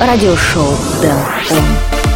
радиошоу Дэн Он.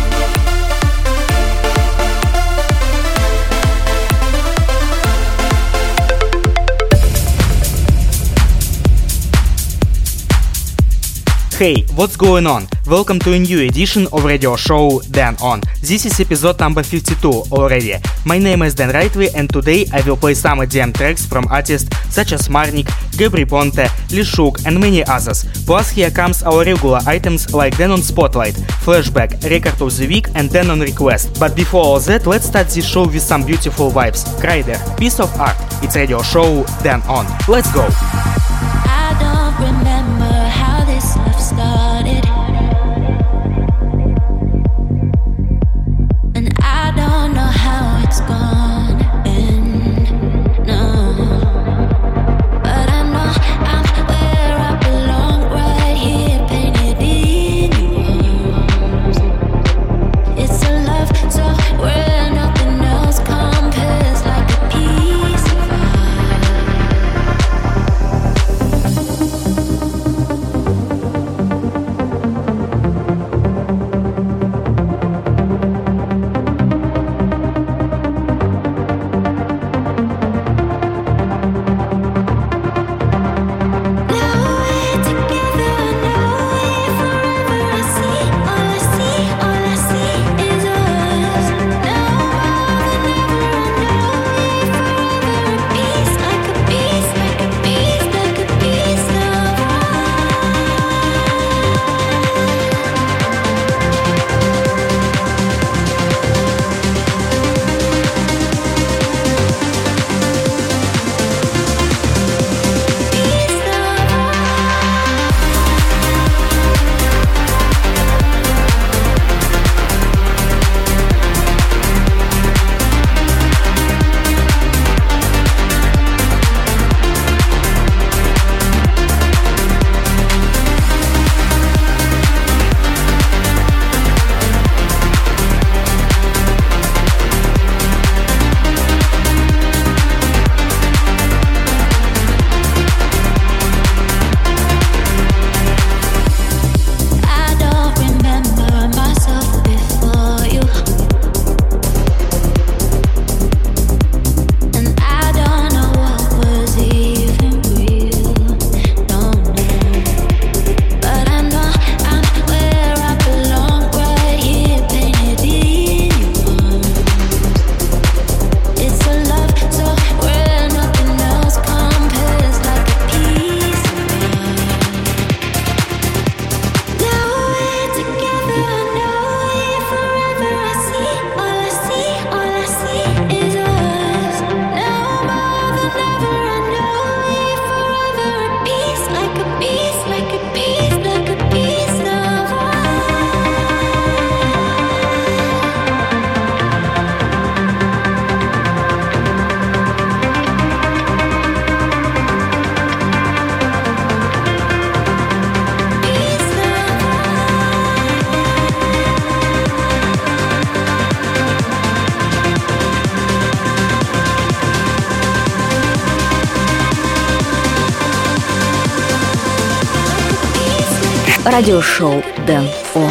Hey, what's going on? Welcome to a new edition of radio show Dan On. This is episode number 52 already. My name is Dan Rightway and today I will play some EDM tracks from artists such as Marnik, Gabry Ponte, Lishuk and many others. Plus here comes our regular items like Dan On Spotlight, Flashback, Record of the Week and Dan On Request. But before all that, let's start this show with some beautiful vibes. Kryder, Piece of Art. It's radio show Dan On. Let's go! I don't remember how this love started, and I don't know how it's gonna end, no. But I know I'm where I belong, right here, painted in your arms. It's a love so where nothing else compares, like a piece of радиошоу Дэн Он.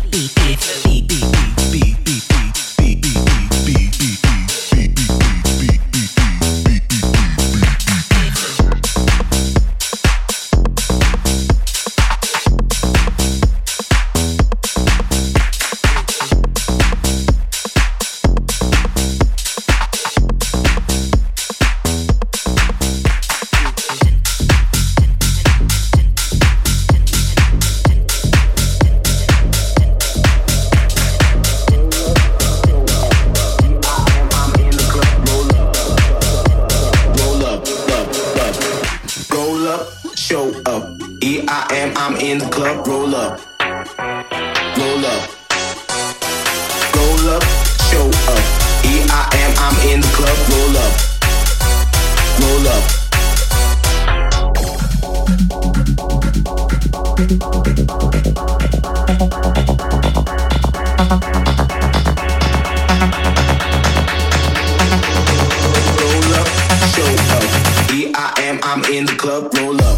am, I'm in the club. Roll up. Roll up. Roll up, show up. E-I-am, I'm in the club. Roll up. Roll up. Roll up, show up. E-I-am, I'm in the club. Roll up.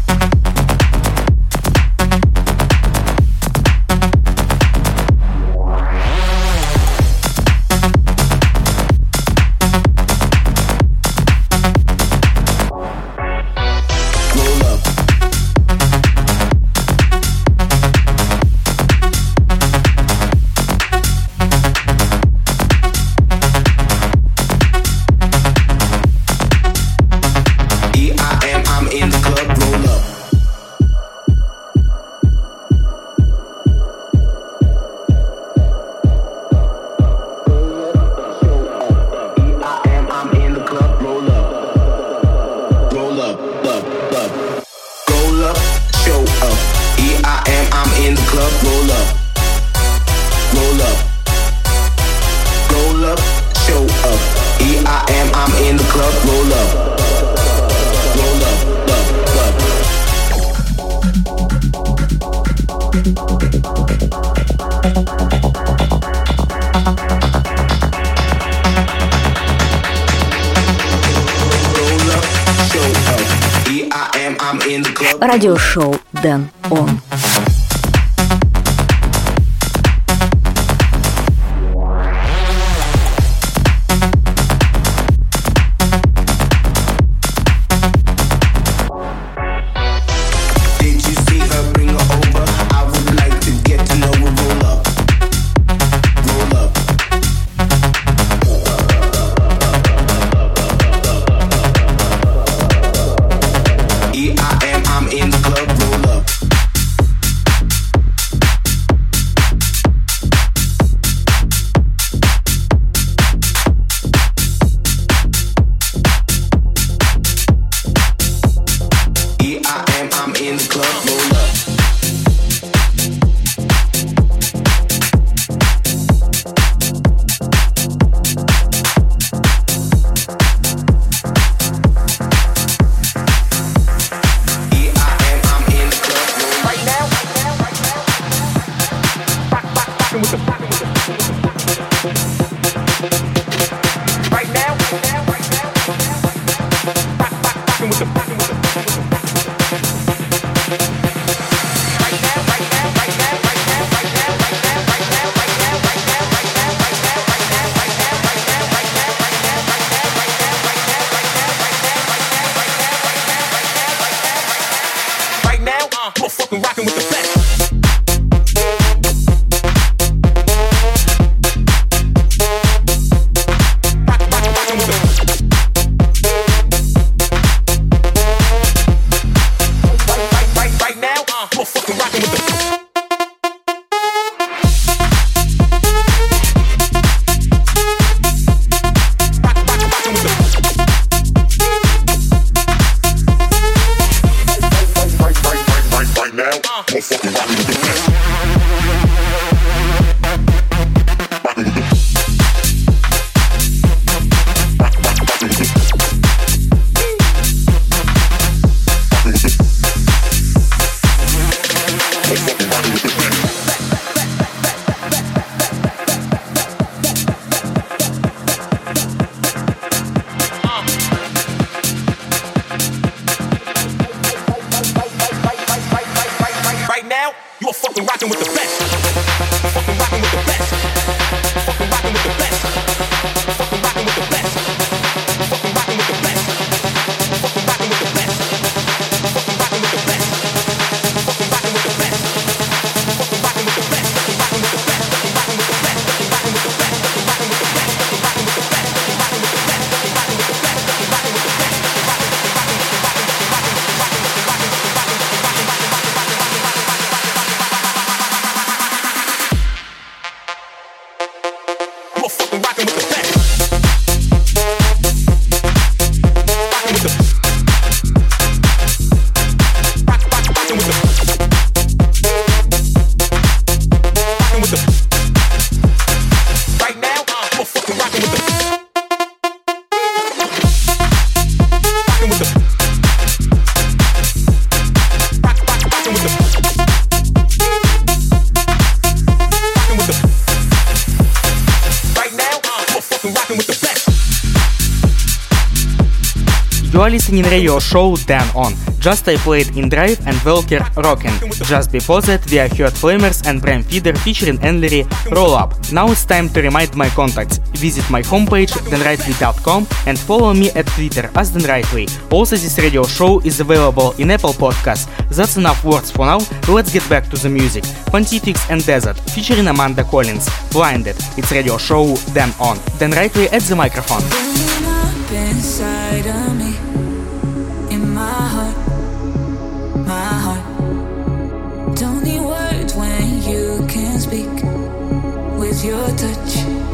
Радиошоу Дэн Он. You are listening radio show Dan On. Just I played In Drive and Welker Rockin'. Just before that we heard Flamers and Bram Feeder featuring Enlery Roll Up. Now it's time to remind my contacts. Visit my homepage danrightway.com and follow me at Twitter as Dan Rightway. Also this radio show is available in Apple Podcasts. That's enough words for now, let's get back to the music. Pontifex and Desert featuring Amanda Collins. Blinded. It's radio show Dan On. Dan Rightway at the microphone. Inside of me, in my heart, don't need words when you can speak. With your touch,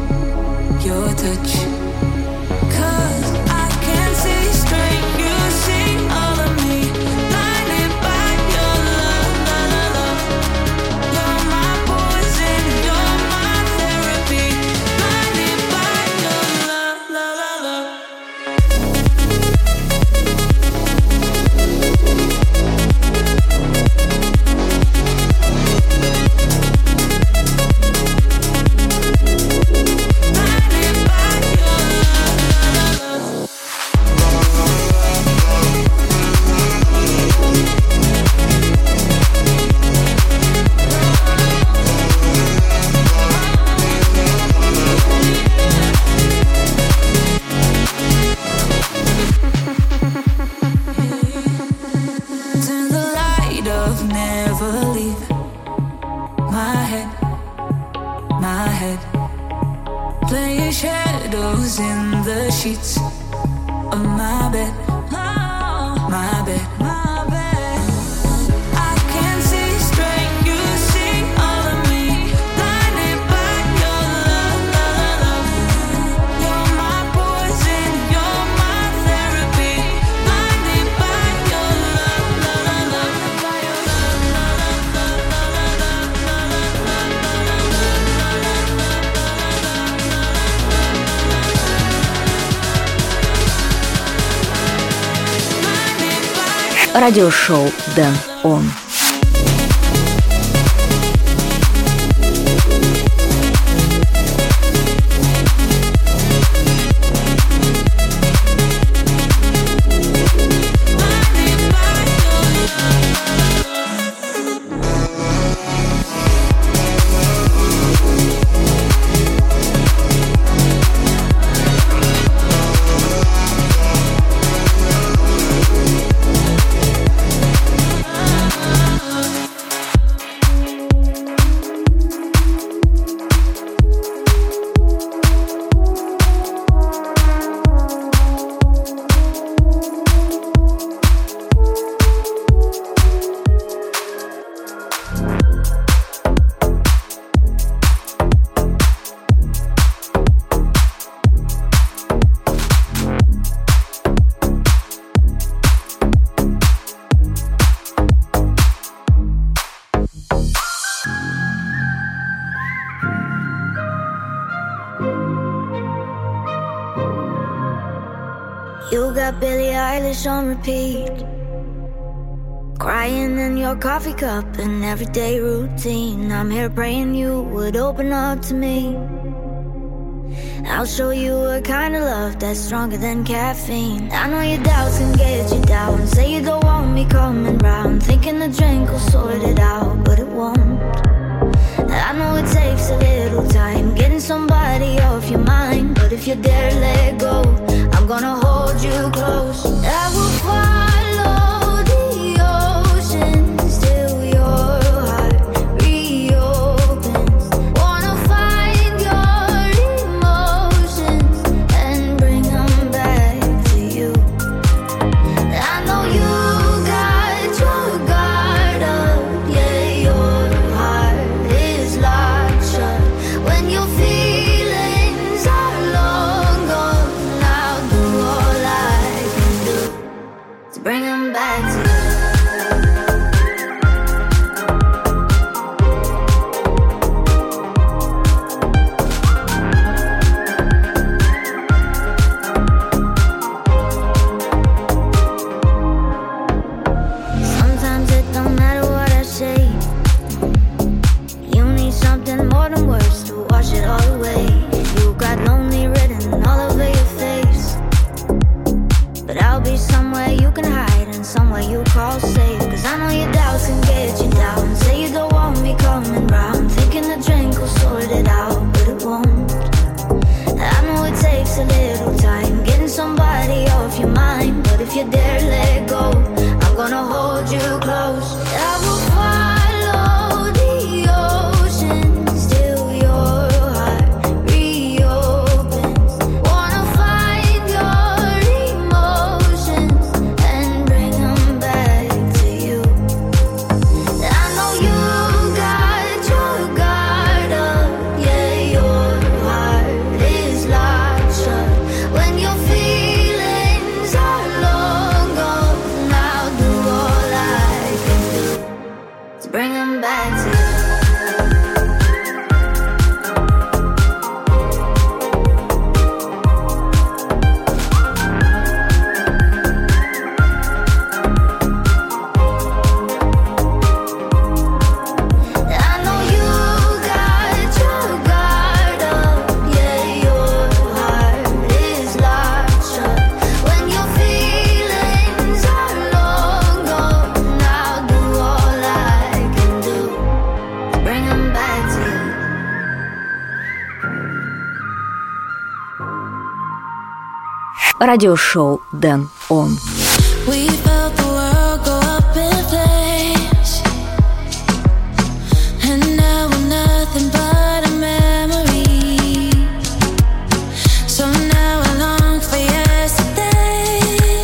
'cause I can see straight, you see all of me. Blinded by your love, you're my poison, you're my therapy. Blinded by your love. Turn the light off, never leave my head. Playing shadows in the sheets of my bed. I can see straight, you see all of me. Blinded by your love. You're my poison, you're my therapy. Blinded by your love. Радиошоу Dan On. You got Billie Eilish on repeat, crying in your coffee cup, an everyday routine. I'm here praying you would open up to me. I'll show you a kind of love that's stronger than caffeine. I know your doubts can get you down. Say you don't want me coming round, thinking the drink will sort it out, but it won't. I know it takes a little time getting somebody off your mind, but if you dare let go, I'm gonna hold you close. I will follow the oceans till your heart reopens. Wanna find your emotions and bring them back to you. I know you got your guard up, yeah, your heart is locked shut. When your feelings are long gone, I'll do all I can do to bring them back to you. Sometimes it don't matter what I say. You need something more than words to wash it all away. You got lonely written all over your face, but I'll be someone Радиошоу Дэн Он. We felt the world go up in flames, and now we're nothing but a memory. So now I long for yesterday.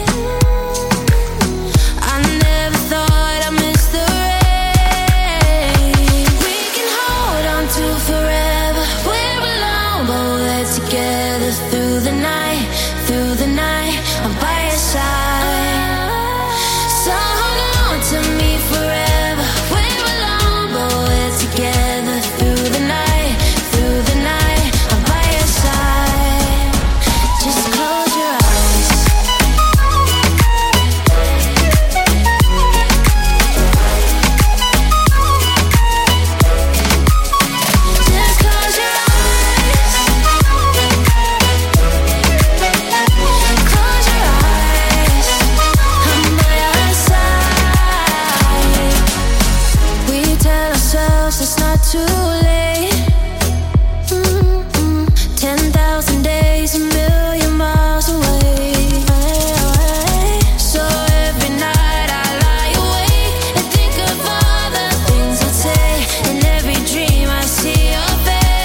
I never thought I'd miss the rain. We can hold on to forever. We're alone, but we're together through the night. Through the night, I'm by your side. So hold on to me forever. We're alone, but we're together through the night. Through the night, I'm by your side. Just close your eyes. Just close your eyes. Close your eyes. I'm by your side. We tell ourselves it's not too late. 10,000 days, a million miles away. So every night I lie awake and think of all the things I'd say. In every dream I see your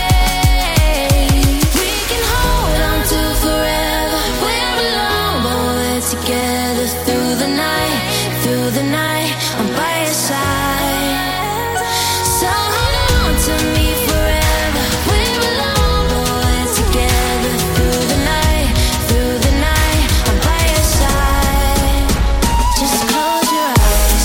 face. We can hold on to forever. We're alone, but we're together through the night. Through the night, I'm by your side. So hold on to me forever. We're alone, but we're together through the night. Through the night, I'm by your side. Just close your eyes.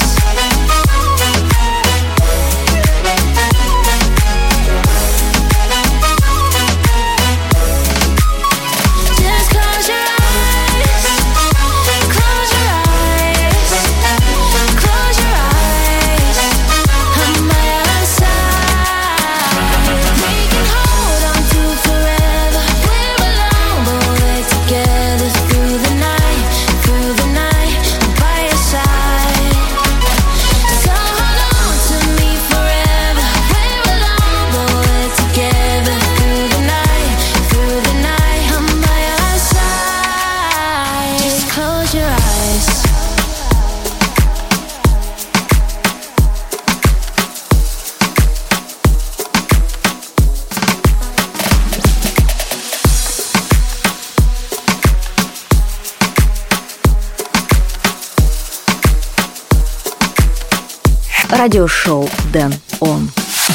Just close your eyes. Close your eyes. Close your eyes. I'm by your side. We can hold on to forever. We're alone, but we're together through the night. Through the night, I'm by your side. So hold on to me forever. We're alone, but we're together through the night. Through the night, I'm by your side. Just close your eyes. Радиошоу Дэн Он.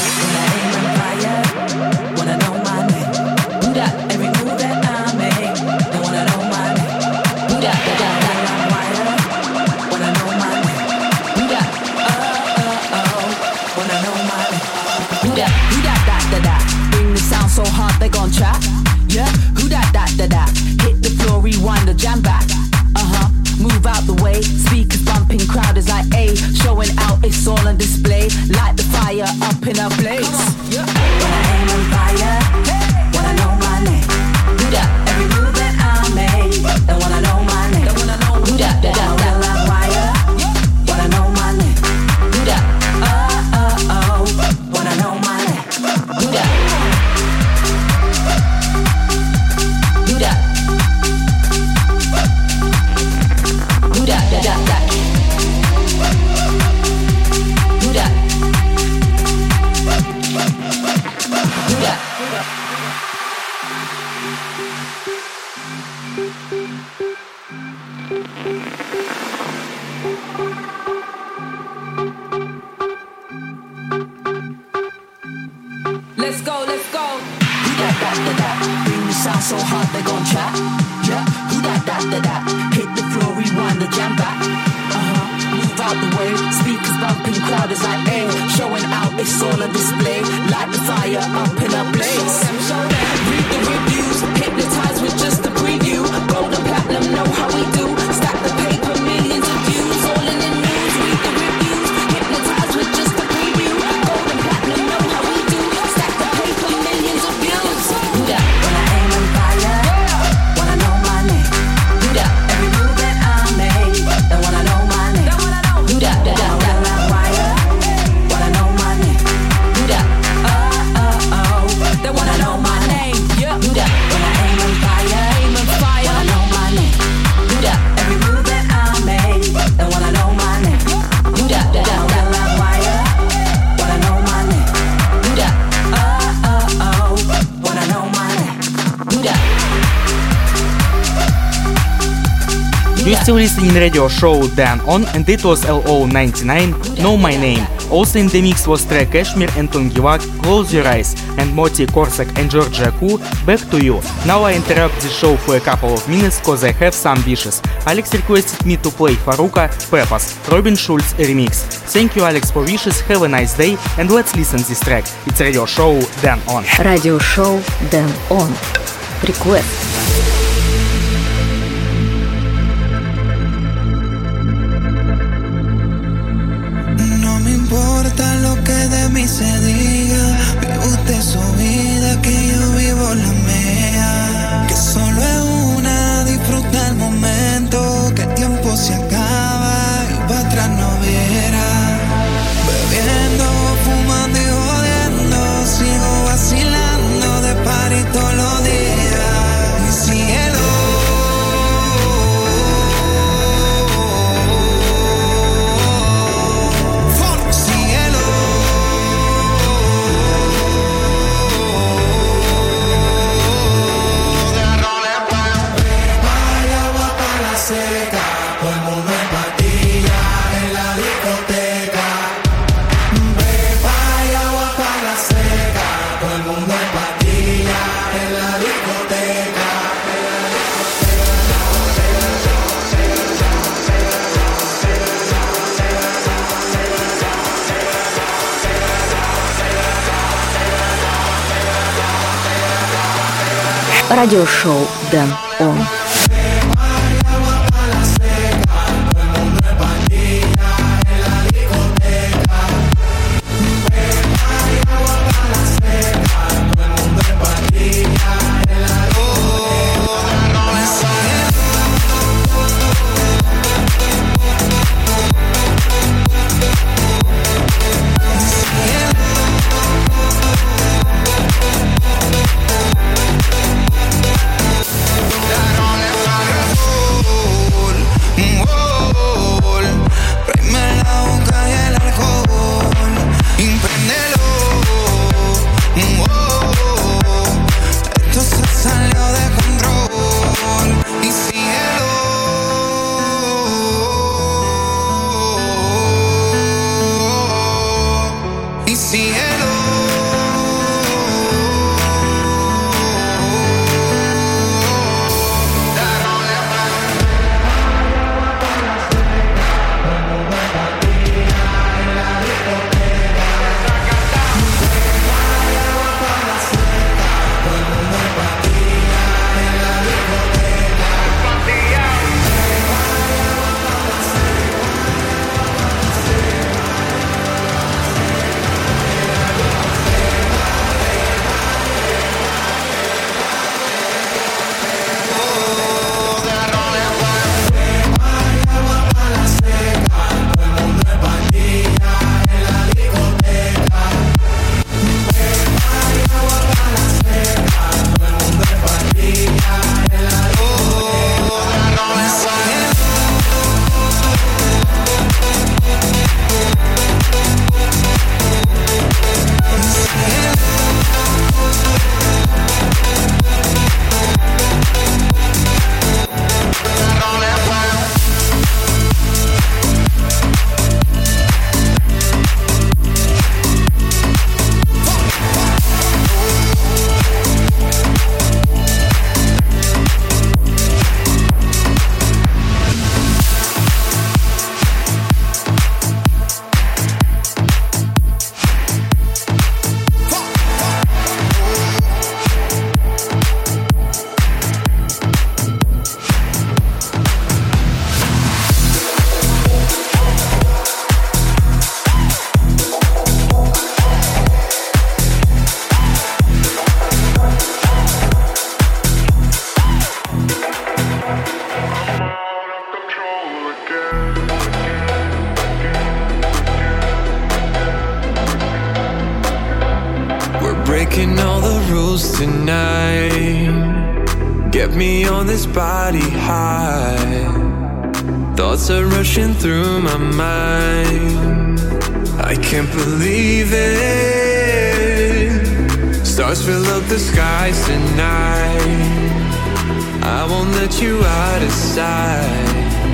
Bring the sound so hard they gon' trap. Yeah, who that? Hit the floor, rewind the jam back. Move out the way, speakers bumping, crowd is like A. Showing out, it's all on display. Light the fire up in a blaze. When I aim on fire, wanna know my name. Do that, every move that I make. They wanna know my name. Who that? Wanna light wire, wanna know my name. Do that, wanna know my name. Do that, do that. Do that, da, da, da. Do that. Do that. Let's go, let's go. Who that, bring the sound so hard they gon' trap. Yeah, who that, hit the floor, rewind the jam back. Move out the way, speakers bumping, crowd is like A. Showing out, it's all on display. Light the fire up in a blaze. Read the reviews, hypnotized with just a preview. Gold and platinum, know how we do. Stack the paper, millions of views, all in the news. Read the reviews, hypnotized with just a preview. Gold and platinum, know how we do. Stack the paper, millions of views. Do that. When I aim on fire, wanna know my name. Do that. Every move that I make, they wanna know my name. Do that. Wanna know my name. Do that. You're still listening radio show Dan On, and it was LO99, Know My Name. Also in the mix was track Kashmir and Tungivak, Close Your Eyes, and Moti Korsak and Georgia Koo, Back to You. Now I interrupt the show for a couple of minutes cause I have some wishes. Alex requested me to play Faruka, Pepas, Robin Schulz remix. Thank you Alex for wishes, have a nice day, and let's listen this track. It's radio show Dan On. Радиошоу Dan On. Request. No me importa lo que de mí se diga, vive usted su vida, que yo vivo la mía. Que solo es una, disfruta el momento, que el tiempo se acaba y para atrás no viera. Bebiendo, fumando y jodiendo, sigo vacilando de party todos los días. Y cielo. Радиошоу Dan On. breaking all the rules tonight. Get me on this body high. Thoughts are rushing through my mind. I can't believe it. Stars fill up the skies tonight. I won't let you out of sight.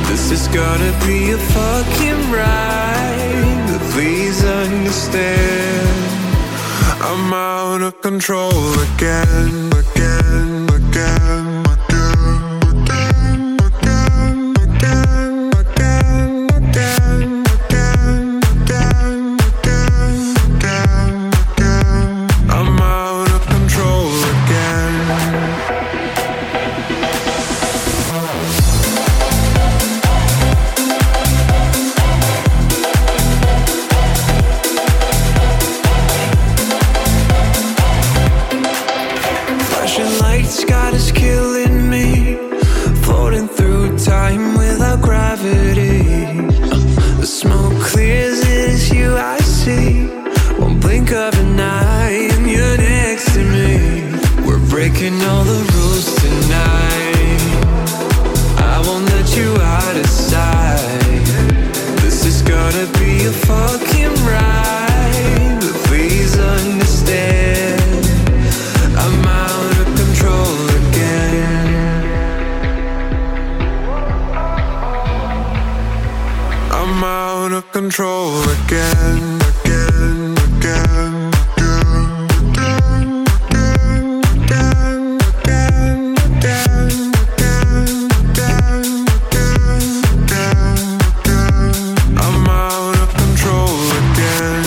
This is gonna be a fucking ride, but please understand, I'm out of control again, again, again, again, again, again, again, again, again, again, again, again, again. I'm out of control again. Lights got us killing me, floating through time without gravity. The smoke clears, it is you I see. One blink of an eye and you're next to me. We're breaking all the rules tonight. I won't let you out of sight. This is gonna be a fucking ride, but please understand, I'm out of control again. I'm out of control again, again, again, again, again, again, again, again, again, again, again, again. I'm out of control again.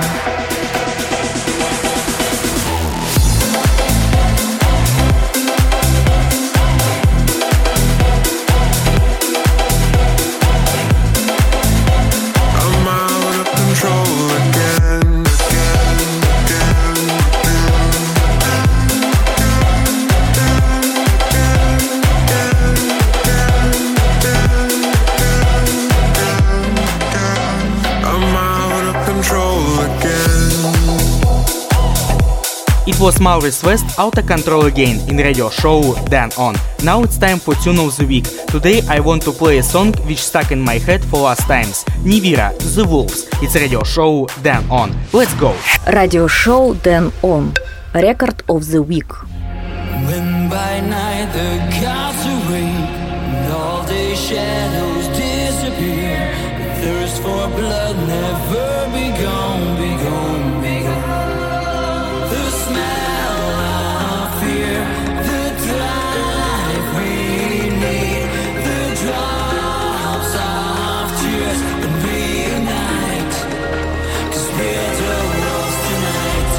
It was Maurice West, Out of Control Again, in radio show Dan On. Now it's time for Tune of the Week. Today I want to play a song which stuck in my head for last times. Nivira, The Wolves. It's radio show Dan On. Let's go! Радиошоу Dan On. Record of the Week. When by night the gods awake and all day shadows disappear, the thirst for blood never be gone, be gone, be gone. The smell of fear, the drive we need, the drops of tears, and we unite, 'cause we're the wolves tonight.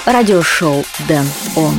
радиошоу Dan On.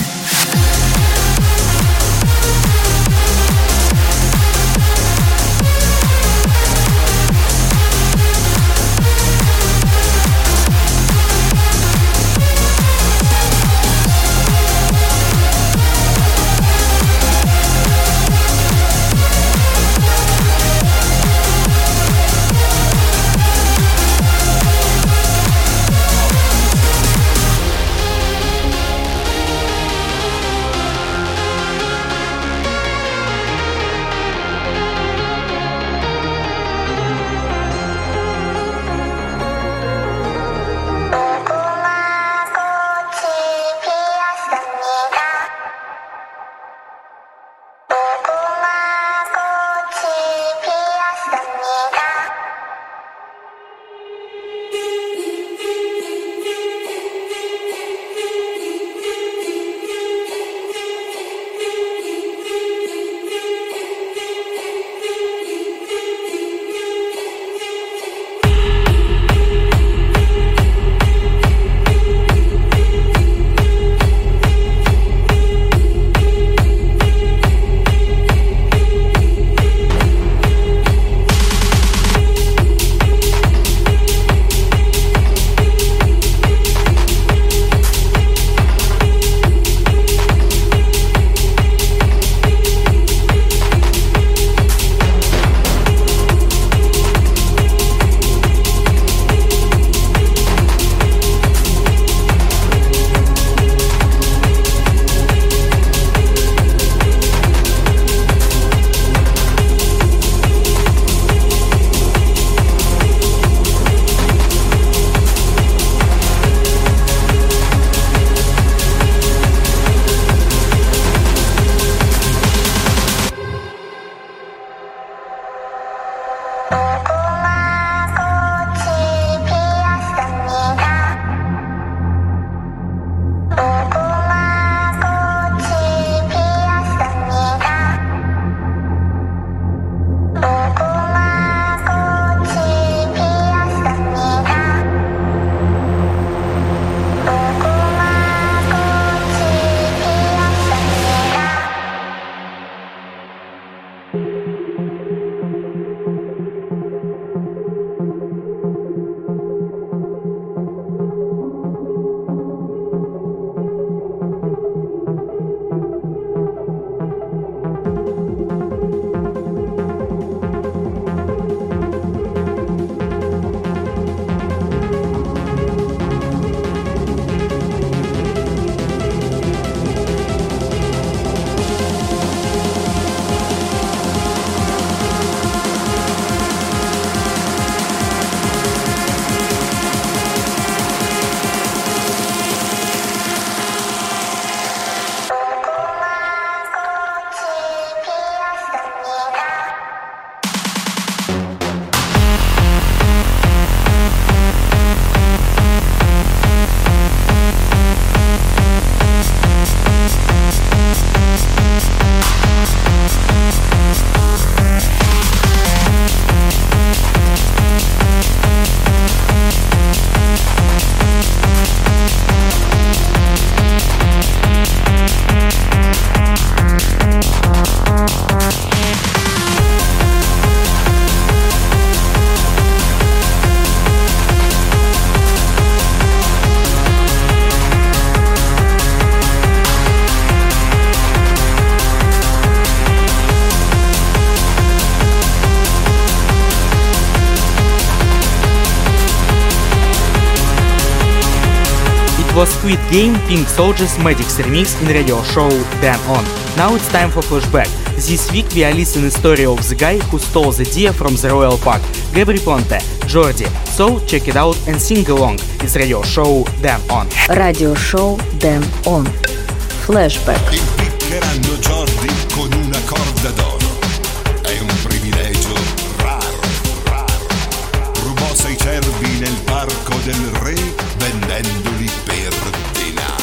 Was Squid Game Pink Soldiers Magic's remix in radio show Dan On. Now it's time for flashback. This week we are listening the story of the guy who stole the deer from the royal park, Gabri Ponte, Jordi. So check it out and sing along. It's radio show Dan On. Радиошоу Dan On. Flashback. Impiccheranno Jordi con una corda d'oro. È un privilegio raro, raro. Rubò 6 cervi nel parco del re vendendoli per denaro.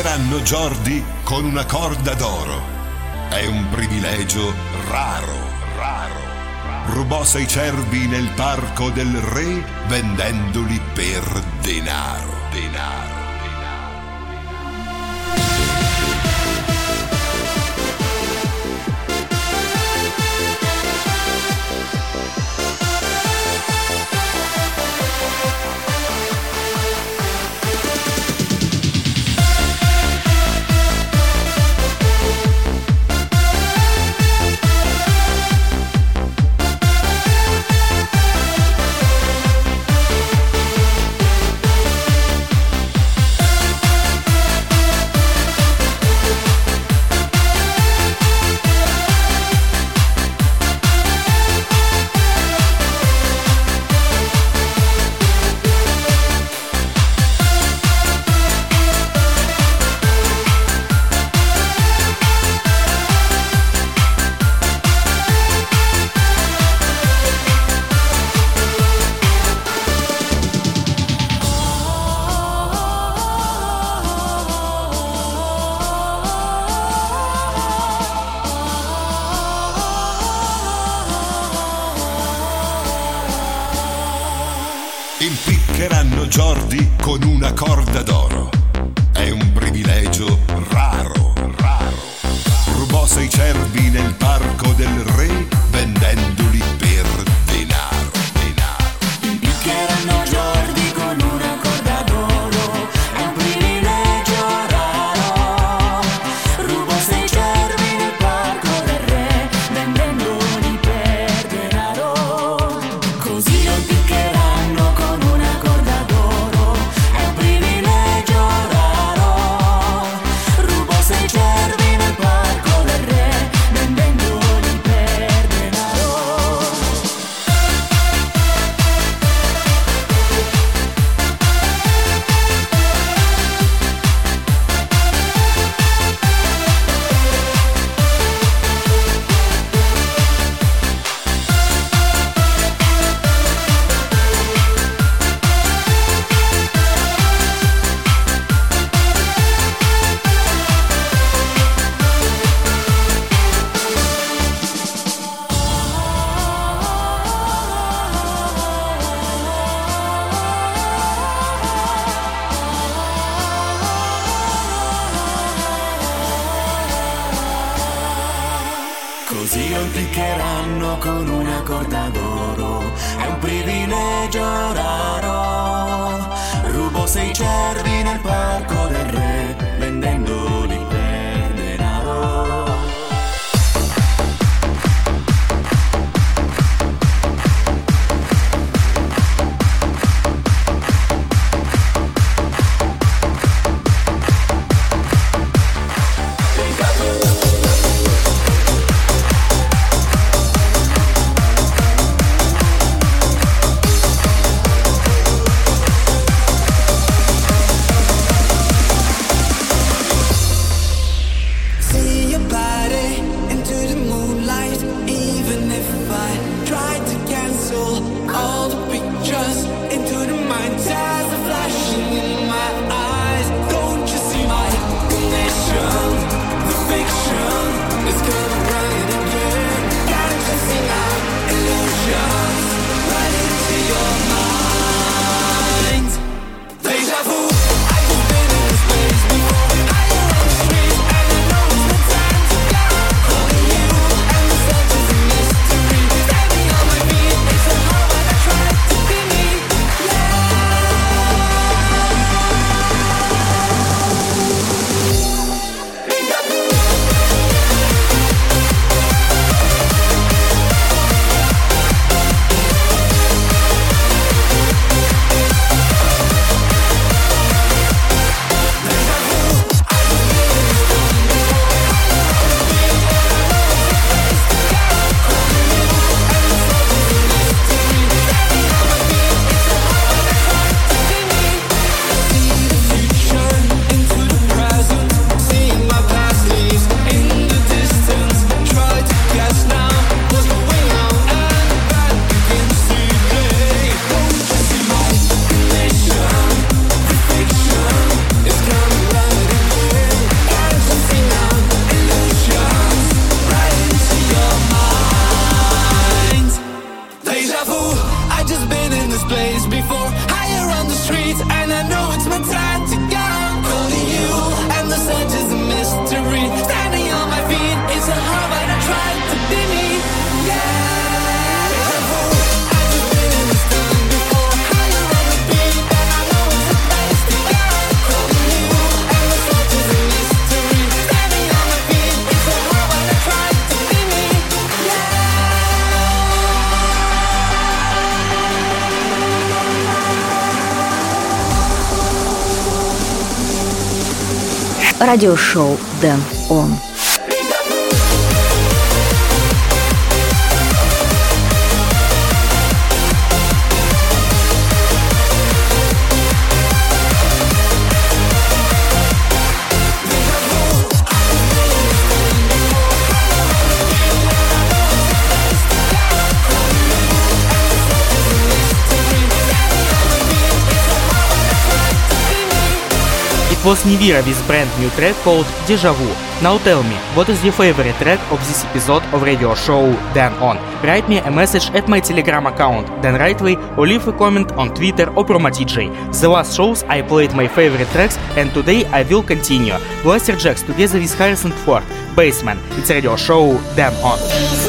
impiccheranno Jordi con una corda d'oro. È un privilegio raro, raro. Rubò 6 cervi nel parco del re vendendoli per denaro, denaro. Impiccheranno Jordi con una corda d'oro. È un privilegio raro, raro. Rubò 6 cervi nel parco del re vendendoli per denaro, denaro. Impiccheranno Jordi con una corda d'oro. È un privilegio raro. Rubò 6 cervi nel parco del re vendendoli per denaro. Così lo impiccheranno con una corda d'oro. È un privilegio raro. Rubò 6 cervi nel parco del re vendendoli per denaro. Così lo impiccheranno con una corda d'oro. È un privilegio raro. Rubò 6 cervi nel parco del re vendendoli per denaro. радиошоу Дэн Он. It was Nivira with brand new track called Deja Vu. Now tell me, what is your favorite track of this episode of radio show Dan On? Write me a message at my Telegram account Dan Rightway or leave a comment on Twitter or PromoDJ. The last shows I played my favorite tracks and today I will continue. Blaster Jacks together with Harrison Ford, Bassman. It's radio show Dan On.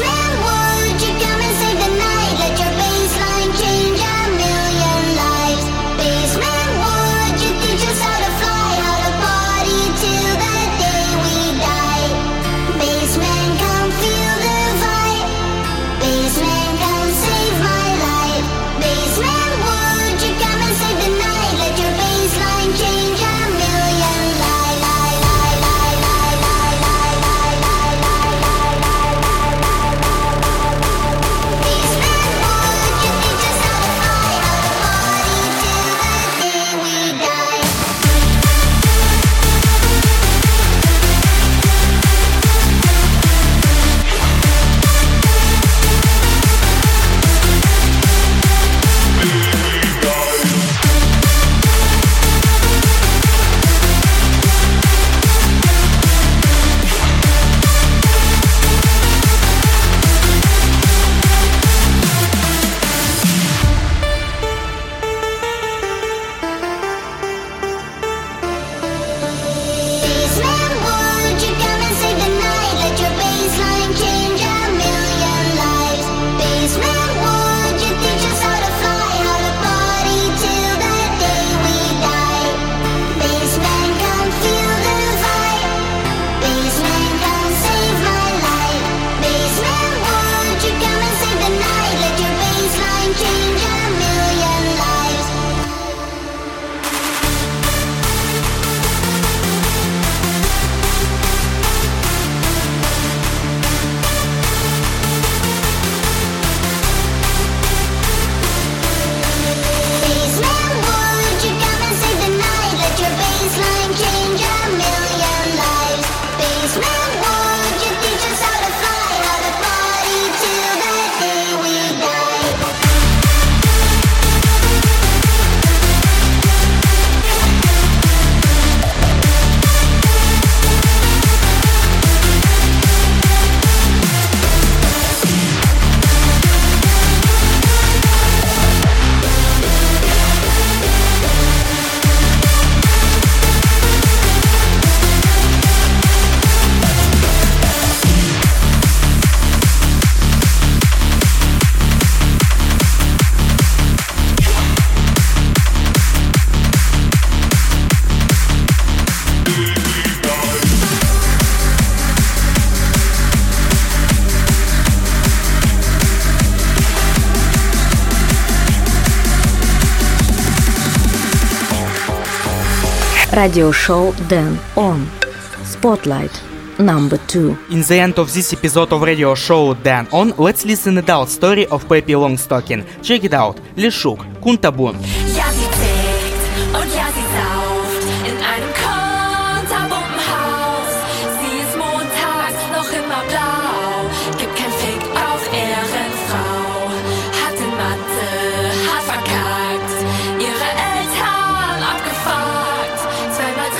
Радиошоу Dan On. Spotlight number 2. In the end of this episode of radio show Dan On, let's listen to the adult story of Peppi Longstocking. Check it out. Lishuk, Kuntabun. Ja, sie tickt und ja, sie sauft in einem kunterbunten Haus. Sie ist montags noch immer blau, gibt kein Fick auf Ehrenfrau. Hat in Mathe hart verkackt, ihre Eltern abgefuckt. 2 mal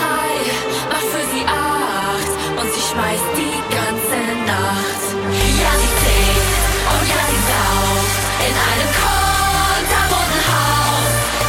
3 macht für sie 8 und sie schmeißt die ganze Nacht. Ja, sie tickt und ja, sie sauft in einem kunterbunten Haus.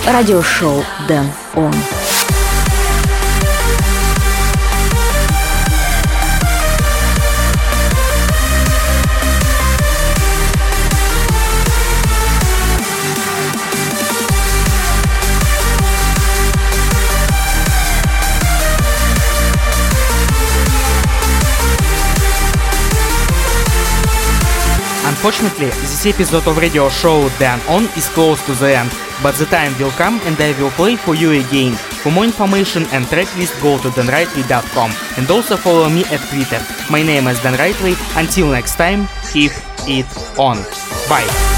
Радиошоу Dan On. Unfortunately, this episode of radio show Dan On is close to the end, but the time will come and I will play for you again. For more information and tracklist, go to danrightway.com and also follow me at Twitter. My name is Dan Rightway. Until next time, keep it on. Bye.